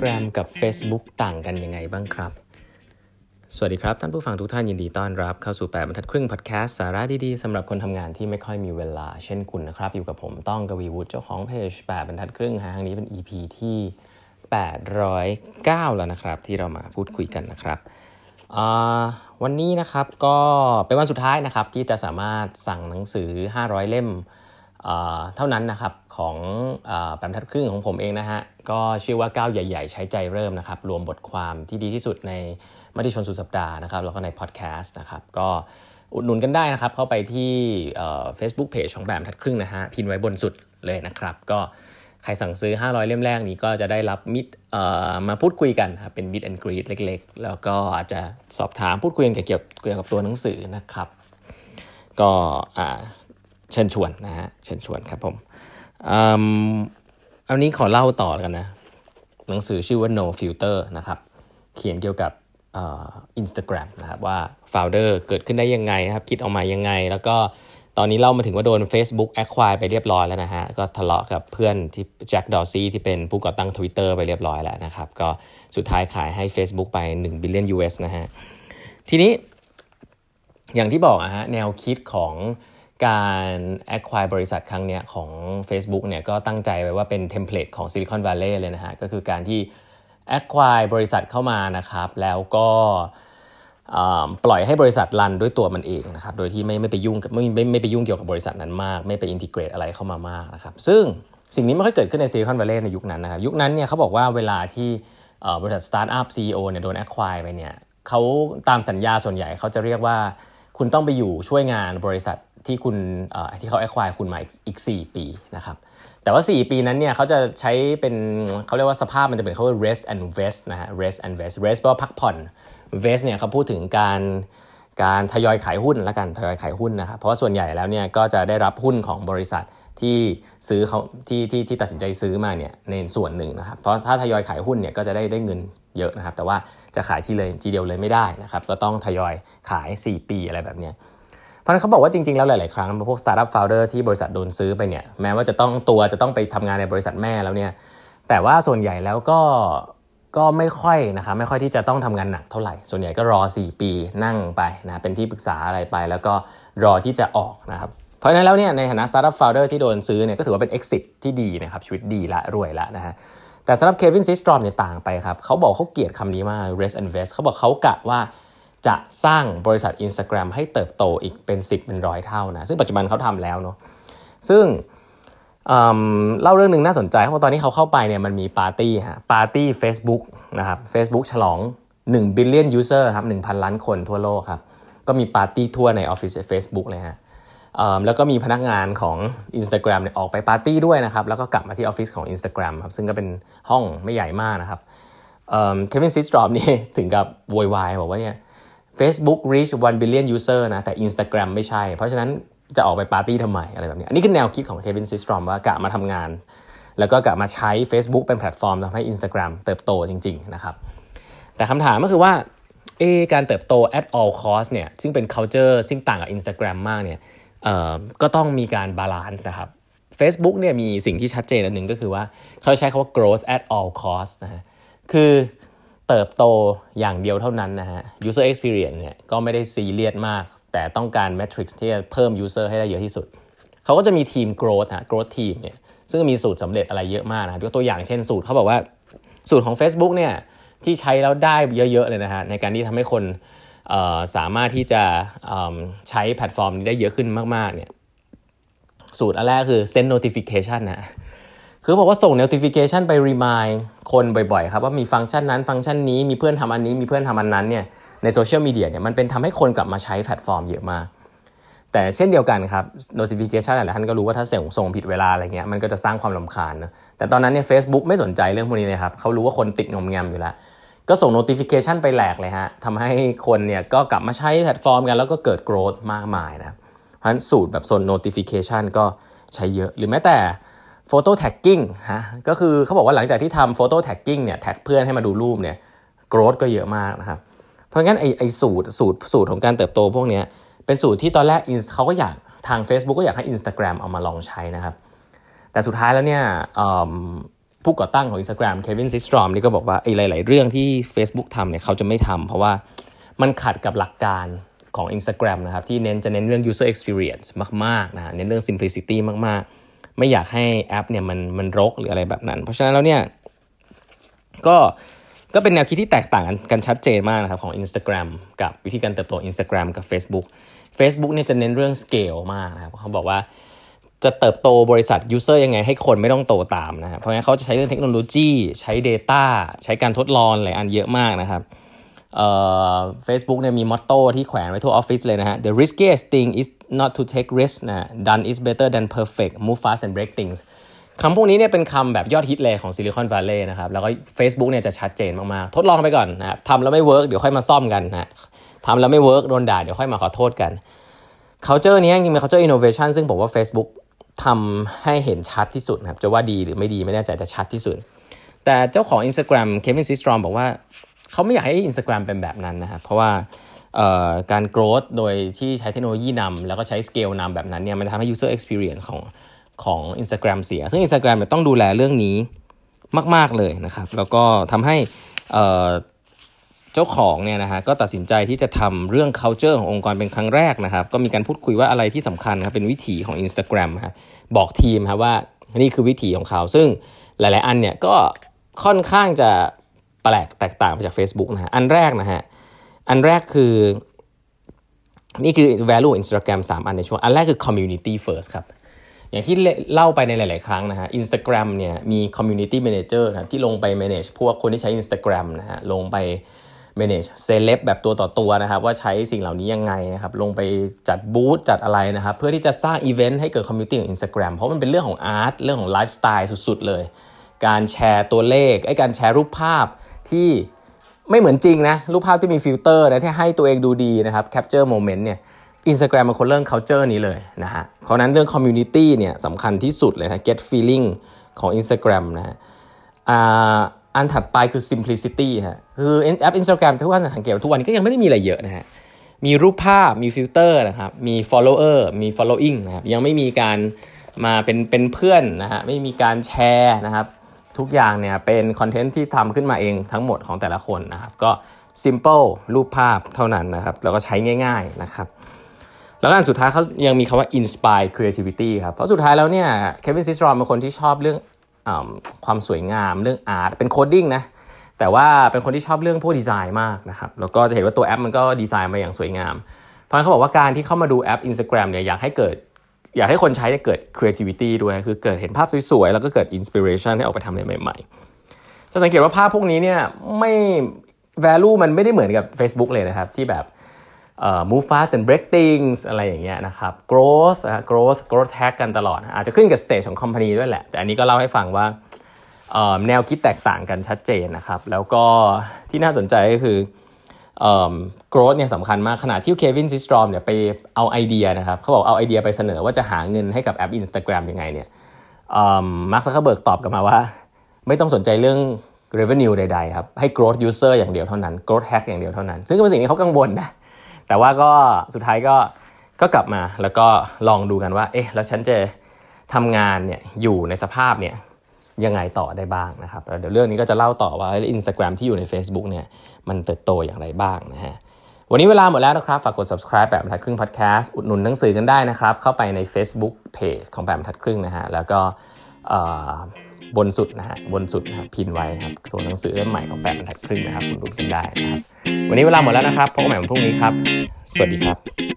Instagram กับ Facebook ต่างกันยังไงบ้างครับสวัสดีครับท่านผู้ฟังทุกท่านยินดีต้อนรับเข้าสู่8บรรทัดครึ่งพอดแคสต์สาระดีๆสำหรับคนทำงานที่ไม่ค่อยมีเวลาเช่นคุณนะครับอยู่กับผมต้องกวีวุฒิเจ้าของเพจ8บรรทัดครึ่งครั้งนี้เป็น EP ที่809แล้วนะครับที่เรามาพูดคุยกันนะครับวันนี้นะครับก็เป็นวันสุดท้ายนะครับที่จะสามารถสั่งหนังสือ500เล่มเท่านั้นนะครับของ8บรรทัดครึ่งของผมเองนะฮะก็ชื่อว่าก้าวใหญ่ๆใช้ใจเริ่มนะครับรวมบทความที่ดีที่สุดในมติชนสุดสัปดาห์นะครับแล้วก็ในพอดแคสต์นะครับก็อุดหนุนกันได้นะครับเข้าไปที่Facebook Page ของ8บรรทัดครึ่งนะฮะพิมพ์ไว้บนสุดเลยนะครับก็ใครสั่งซื้อ500เล่มแรกนี้ก็จะได้รับมิตรมาพูดคุยกันครับเป็น Meet and Greet เล็กๆแล้วก็อาจจะสอบถามพูดคุยกันเกี่ยวกับตัวหนังสือนะครับก็เชิญชวนนะฮะเชิญชวนครับผมอันนี้ขอเล่าต่อกันนะหนังสือชื่อว่า No Filter นะครับเขียนเกี่ยวกับInstagram นะครับว่า founder เกิดขึ้นได้ยังไงนะครับคิดออกมายังไงแล้วก็ตอนนี้เล่ามาถึงว่าโดน Facebook acquire ไปเรียบร้อยแล้วนะฮะก็ทะเลาะกับเพื่อนที่แจ็คดอร์ซี่ที่เป็นผู้ก่อตั้ง Twitter ไปเรียบร้อยแล้วนะครับก็สุดท้ายขายให้ Facebook ไป1 billion US นะฮะทีนี้อย่างที่บอกฮะแนวคิดของการ acquire บริษัทครั้งเนี้ยของ Facebook เนี่ยก็ตั้งใจไว้ว่าเป็นเทมเพลตของ Silicon Valley เลยนะฮะก็คือการที่acquire บริษัทเข้ามานะครับแล้วก็ปล่อยให้บริษัทรันด้วยตัวมันเองนะครับโดยที่ไม่ไปยุ่งกับไม่ไปยุ่งเกี่ยวกับบริษัทนั้นมากไม่ไปอินทิเกรตอะไรเข้ามามากนะครับซึ่งสิ่งนี้ไม่ค่อยเกิดขึ้นใน Silicon Valley ในยุคนั้นนะครับยุคนั้นเนี่ยเขาบอกว่าเวลาที่บริษัทสตาร์ทอัพ CEO เนี่ยโดน acquire ไปเนี่ยเขาตามสัญญาส่วนใหญ่เขาจะเรียกว่าคุณต้องไปอยู่ช่วยงานบริษัทที่คุณที่เขา acquire คุณมาอีก4ปีนะครับแต่ว่า4ปีนั้นเนี่ยเขาจะใช้เป็นเขาเรียกว่าสภาพมันจะเป็นเขาเรียก rest and vest นะฮะ rest and vest rest แปลว่าพักผ่อน vest เนี่ยเขาพูดถึงการทยอยขายหุ้นละกันทยอยขายหุ้นนะครับเพราะว่าส่วนใหญ่แล้วเนี่ยก็จะได้รับหุ้นของบริษัทที่ซื้อเขาที่ตัดสินใจซื้อมาเนี่ยในส่วนหนึ่งนะครับเพราะถ้าทยอยขายหุ้นเนี่ยก็จะได้เงินเยอะนะครับแต่ว่าจะขายทีเดียวเลยไม่ได้นะครับก็ต้องทยอยขาย4ปีอะไรแบบเนี้ยเพราะฉะนั้นเขาบอกว่าจริงๆแล้วหลายๆครั้งพวก startup founder ที่บริษัทโดนซื้อไปเนี่ยแม้ว่าจะต้องไปทำงานในบริษัทแม่แล้วเนี่ยแต่ว่าส่วนใหญ่แล้วก็ไม่ค่อยนะครับไม่ค่อยที่จะต้องทำงานหนักเท่าไหร่ส่วนใหญ่ก็รอ4ปีนั่งไปนะเป็นที่ปรึกษาอะไรไปแล้วก็รอที่จะออกนะครับเพราะฉะนั้นแล้วเนี่ยในฐานะ startup founder ที่โดนซื้อเนี่ยก็ถือว่าเป็น exit ที่ดีนะครับชีวิตดีละรวยละนะฮะแต่สำหรับเควินซิสตรอมเนี่ยต่างไปครับเขาบอกเขาเกลียดคำนี้มาก rest and vest เขาบอกเขากะว่าจะสร้างบริษัท Instagram ให้เติบโตอีกเป็น10เป็น100เท่านะซึ่งปัจจุบันเขาทำแล้วเนาะซึ่งเล่าเรื่องนึงน่าสนใจเพราะตอนนี้เขาเข้าไปเนี่ยมันมีปาร์ตี้ Facebook นะครับ Facebook ฉลอง1 billion user ครับ 1,000 ล้านคนทั่วโลกครับก็มีปาร์ตี้ทั่วในออฟฟิศ Facebook เลยฮะแล้วก็มีพนักงานของ Instagram เนี่ยออกไปปาร์ตี้ด้วยนะครับแล้วก็กลับมาที่ออฟฟิศของ Instagram ครับซึ่งก็เป็นห้องไม่ใหญ่มากนะครับเควินซิสตรอมนี่ถึงกับโวยวายบอกว่าเนี่ยFacebook reach 1 billion user นะแต่ Instagram ไม่ใช่เพราะฉะนั้นจะออกไปปาร์ตี้ทำไมอะไรแบบนี้อันนี้คือแนวคิดของ Kevin Systrom ว่ากะมาทำงานแล้วก็กะมาใช้ Facebook เป็นแพลตฟอร์มทำให้ Instagram เติบโตจริงๆนะครับแต่คำถามก็คือว่าการเติบโต at all cost เนี่ยซึ่งเป็น culture ซึ่งต่างกับ Instagram มากเนี่ยก็ต้องมีการบาลานซ์นะครับ Facebook เนี่ยมีสิ่งที่ชัดเจนอันหนึ่งก็คือว่าเขาใช้คำว่า growth at all cost นะฮะคือเติบโตอย่างเดียวเท่านั้นนะฮะ user experience เนี่ยก็ไม่ได้ซีเรียสมากแต่ต้องการ metrics ที่จะเพิ่ม user ให้ได้เยอะที่สุดเขาก็จะมีทีม growth team เนี่ยซึ่งมีสูตรสำเร็จอะไรเยอะมากนะครับยกตัวอย่างเช่นสูตรเขาบอกว่าสูตรของ Facebook เนี่ยที่ใช้แล้วได้เยอะๆเลยนะฮะในการที่ทำให้คนสามารถที่จะใช้แพลตฟอร์มนี้ได้เยอะขึ้นมากๆเนี่ยสูตรอันแรกคือ send notification นะคือบอกว่าส่ง notification ไป remind คนบ่อยๆครับว่ามีฟังก์ชันนั้นฟังก์ชันนี้มีเพื่อนทำอันนี้มีเพื่อนทำอันนั้นเนี่ยในโซเชียลมีเดียเนี่ยมันเป็นทำให้คนกลับมาใช้แพลตฟอร์มเยอะมากแต่เช่นเดียวกันครับ notification หลายท่านก็รู้ว่าถ้าส่งผิดเวลาอะไรเงี้ยมันก็จะสร้างความรำคาญนะแต่ตอนนั้นเนี่ย Facebook ไม่สนใจเรื่องพวกนี้เลยครับเขารู้ว่าคนติดงอมแงมอยู่แล้วก็ส่ง notification ไปแหลกเลยฮะทำให้คนเนี่ยก็กลับมาใช้แพลตฟอร์มกันแล้วก็เกิด growth มากมายนะเพราะฉะนั้นสูตรแบบส่วน notification ก็ใช้เยอะหรือแม้แต่photo tagging ฮะก็คือเขาบอกว่าหลังจากที่ทำ photo tagging เนี่ยแท็กเพื่อนให้มาดูรูปเนี่ย growth ก็เยอะมากนะครับเพราะงั้นไอสูตรของการเติบโตพวกนี้เป็นสูตรที่ตอนแรกเขาก็อยากทาง Facebook ก็อยากให้ Instagram เอามาลองใช้นะครับแต่สุดท้ายแล้วเนี่ยผู้ก่อตั้งของ Instagram เควินซิสตรอมนี่ก็บอกว่าหลายๆเรื่องที่ Facebook ทำเนี่ยเขาจะไม่ทำเพราะว่ามันขัดกับหลักการของ Instagram นะครับที่จะเน้นเรื่อง user experience มากๆนะเน้นเรื่อง simplicity มากๆไม่อยากให้แอปเนี่ยมันรกหรืออะไรแบบนั้นเพราะฉะนั้นแล้วเนี่ยก็เป็นแนวคิดที่แตกต่างกันชัดเจนมากนะครับของ Instagram กับวิธีการเติบโต Instagram กับ Facebook เนี่ยจะเน้นเรื่อง scale มากนะครับเขาบอกว่าจะเติบโตบริษัท user ยังไงให้คนไม่ต้องโตตามนะครับเพราะงั้นเขาจะใช้เรื่องเทคโนโลยีใช้ data ใช้การทดลองหลายอันเยอะมากนะครับFacebook เนี่ยมีมอตโต้ที่แขวนไว้ทั่วออฟฟิศเลยนะฮะ The riskiest thing is not to take risk นะ Done is better than perfect Move fast and break things คำพวกนี้เนี่ยเป็นคำแบบยอดฮิตเลยของ Silicon Valley นะครับแล้วก็ Facebook เนี่ยจะชัดเจนมากๆทดลองไปก่อนนะทำแล้วไม่เวิร์กเดี๋ยวค่อยมาซ่อมกันนะทำแล้วไม่เวิร์กโดนด่าเดี๋ยวค่อยมาขอโทษกัน culture นี้จริงๆเป็น culture innovation ซึ่งผมว่า Facebook ทำให้เห็นชัดที่สุดนะครับจะว่าดีหรือไม่ดีไม่แน่ใจแต่ชัดที่สุดแต่เจ้าของ Instagram Kevin Systrom บอกว่าเขาไม่อยากให้ Instagram เป็นแบบนั้นนะครับเพราะว่าการ growth โดยที่ใช้เทคโนโลยีนำแล้วก็ใช้ scale นำแบบนั้นเนี่ยมันทำให้ user experience ของ Instagram เสียซึ่ง Instagram ต้องดูแลเรื่องนี้มากๆเลยนะครับแล้วก็ทำให้เจ้าของเนี่ยนะฮะก็ตัดสินใจที่จะทำเรื่อง culture ขององค์กรเป็นครั้งแรกนะครับก็มีการพูดคุยว่าอะไรที่สำคัญครับเป็นวิถีของ Instagram ครับบอกทีมครับว่านี่คือวิถีของเขาซึ่งหลายๆอันเนี่ยก็ค่อนข้างจะแปลกแตกต่างไปจาก Facebook นะฮะอันแรกคือนี่คือ value Instagram 3 อันในช่วงอันแรกคือ community first ครับอย่างที่เล่าไปในหลายๆครั้งนะฮะ Instagram เนี่ยมี community manager ครับที่ลงไป manage พวกคนที่ใช้ Instagram นะฮะลงไป manage celeb แบบตัวต่อตัวนะครับว่าใช้สิ่งเหล่านี้ยังไงนะครับลงไปจัดบูธจัดอะไรนะครับเพื่อที่จะสร้างอีเวนต์ให้เกิด community ของ Instagram เพราะมันเป็นเรื่องของอาร์ตเรื่องของไลฟ์สไตล์สุดๆเลยการแชร์ตัวเลขการแชร์รูปภาพที่ไม่เหมือนจริงนะรูปภาพที่มีฟิลเตอร์นะที่ให้ตัวเองดูดีนะครับ capture moment เนี่ย Instagram เป็นคนเรื่อง culture นี้เลยนะฮะเพราะนั้นเรื่อง community เนี่ยสำคัญที่สุดเลยนะ get feeling ของ Instagram นะฮะอันถัดไปคือ simplicity ฮะคือแอป Instagram ทุกวันสังเกตทุกวันนี้ก็ยังไม่ได้มีอะไรเยอะนะฮะมีรูปภาพมีฟิลเตอร์นะครับมี follower มี following นะครับยังไม่มีการมาเป็นเพื่อนนะฮะไม่มีการแชร์นะครับทุกอย่างเนี่ยเป็นคอนเทนต์ที่ทำขึ้นมาเองทั้งหมดของแต่ละคนนะครับก็ simple รูปภาพเท่านั้นนะครับแล้วก็ใช้ง่ายๆนะครับแล้วก็อันสุดท้ายเขายังมีคำว่า inspire creativity ครับเพราะสุดท้ายแล้วเนี่ย Kevin Systrom เป็นคนที่ชอบเรื่องความสวยงามเรื่องอาร์ตเป็นโคดดิ้งนะแต่ว่าเป็นคนที่ชอบเรื่องพวกดีไซน์มากนะครับแล้วก็จะเห็นว่าตัวแอปมันก็ดีไซน์มาอย่างสวยงามเพราะฉะนั้นเขาบอกว่าการที่เข้ามาดูแอป Instagram เนี่ยอยากให้คนใช้เกิด creativity ด้วยคือเกิดเห็นภาพสวยๆแล้วก็เกิด inspiration ให้ออกไปทำอะไรใหม่ๆจะสังเกตว่าภาพพวกนี้เนี่ยไม่ value มันไม่ได้เหมือนกับ Facebook เลยนะครับที่แบบmove fast and break things อะไรอย่างเงี้ยนะครับ growth tag กันตลอดอาจจะขึ้นกับ stage ของ company ด้วยแหละแต่อันนี้ก็เล่าให้ฟังว่าแนวคิดแตกต่างกันชัดเจนนะครับแล้วก็ที่น่าสนใจก็คือgrowth เนี่ยสำคัญมากขณะที่ Kevin Systrom เนี่ยไปเอาไอเดียนะครับเขาบอกเอาไอเดียไปเสนอว่าจะหาเงินให้กับแอป Instagram ยังไงเนี่ยมาร์ค ซักเคอร์เบิร์กตอบกลับมาว่าไม่ต้องสนใจเรื่อง revenue ใดๆครับให้ growth user อย่างเดียวเท่านั้น growth hack อย่างเดียวเท่านั้นซึ่งเป็นสิ่งที่เขากังวลนะแต่ว่าก็สุดท้ายก็กลับมาแล้วก็ลองดูกันว่าแล้วฉันจะทำงานเนี่ยอยู่ในสภาพเนี่ยยังไงต่อได้บ้างนะครับแล้วเดี๋ยวเรื่องนี้ก็จะเล่าต่อว่า Instagram ที่อยู่ใน Facebook เนี่ยมันเติบโตอย่างไรบ้างนะฮะวันนี้เวลาหมดแล้วนะครับฝากกด subscribe แบบบรรทัดครึ่ง podcast อุดหนุนหนังสือกันได้นะครับเข้าไปใน Facebook Page ของแบบบรรทัดครึ่งนะฮะแล้วก็บนสุดนะครับพินไว้ครับตัวหนังสือเล่มใหม่ของแบบบรรทัดครึ่งนะครับอุดหนุนกันได้นะครับวันนี้เวลาหมดแล้วนะครับพบกันใหม่วันพรุ่งนี้ครับสวัสดีครับ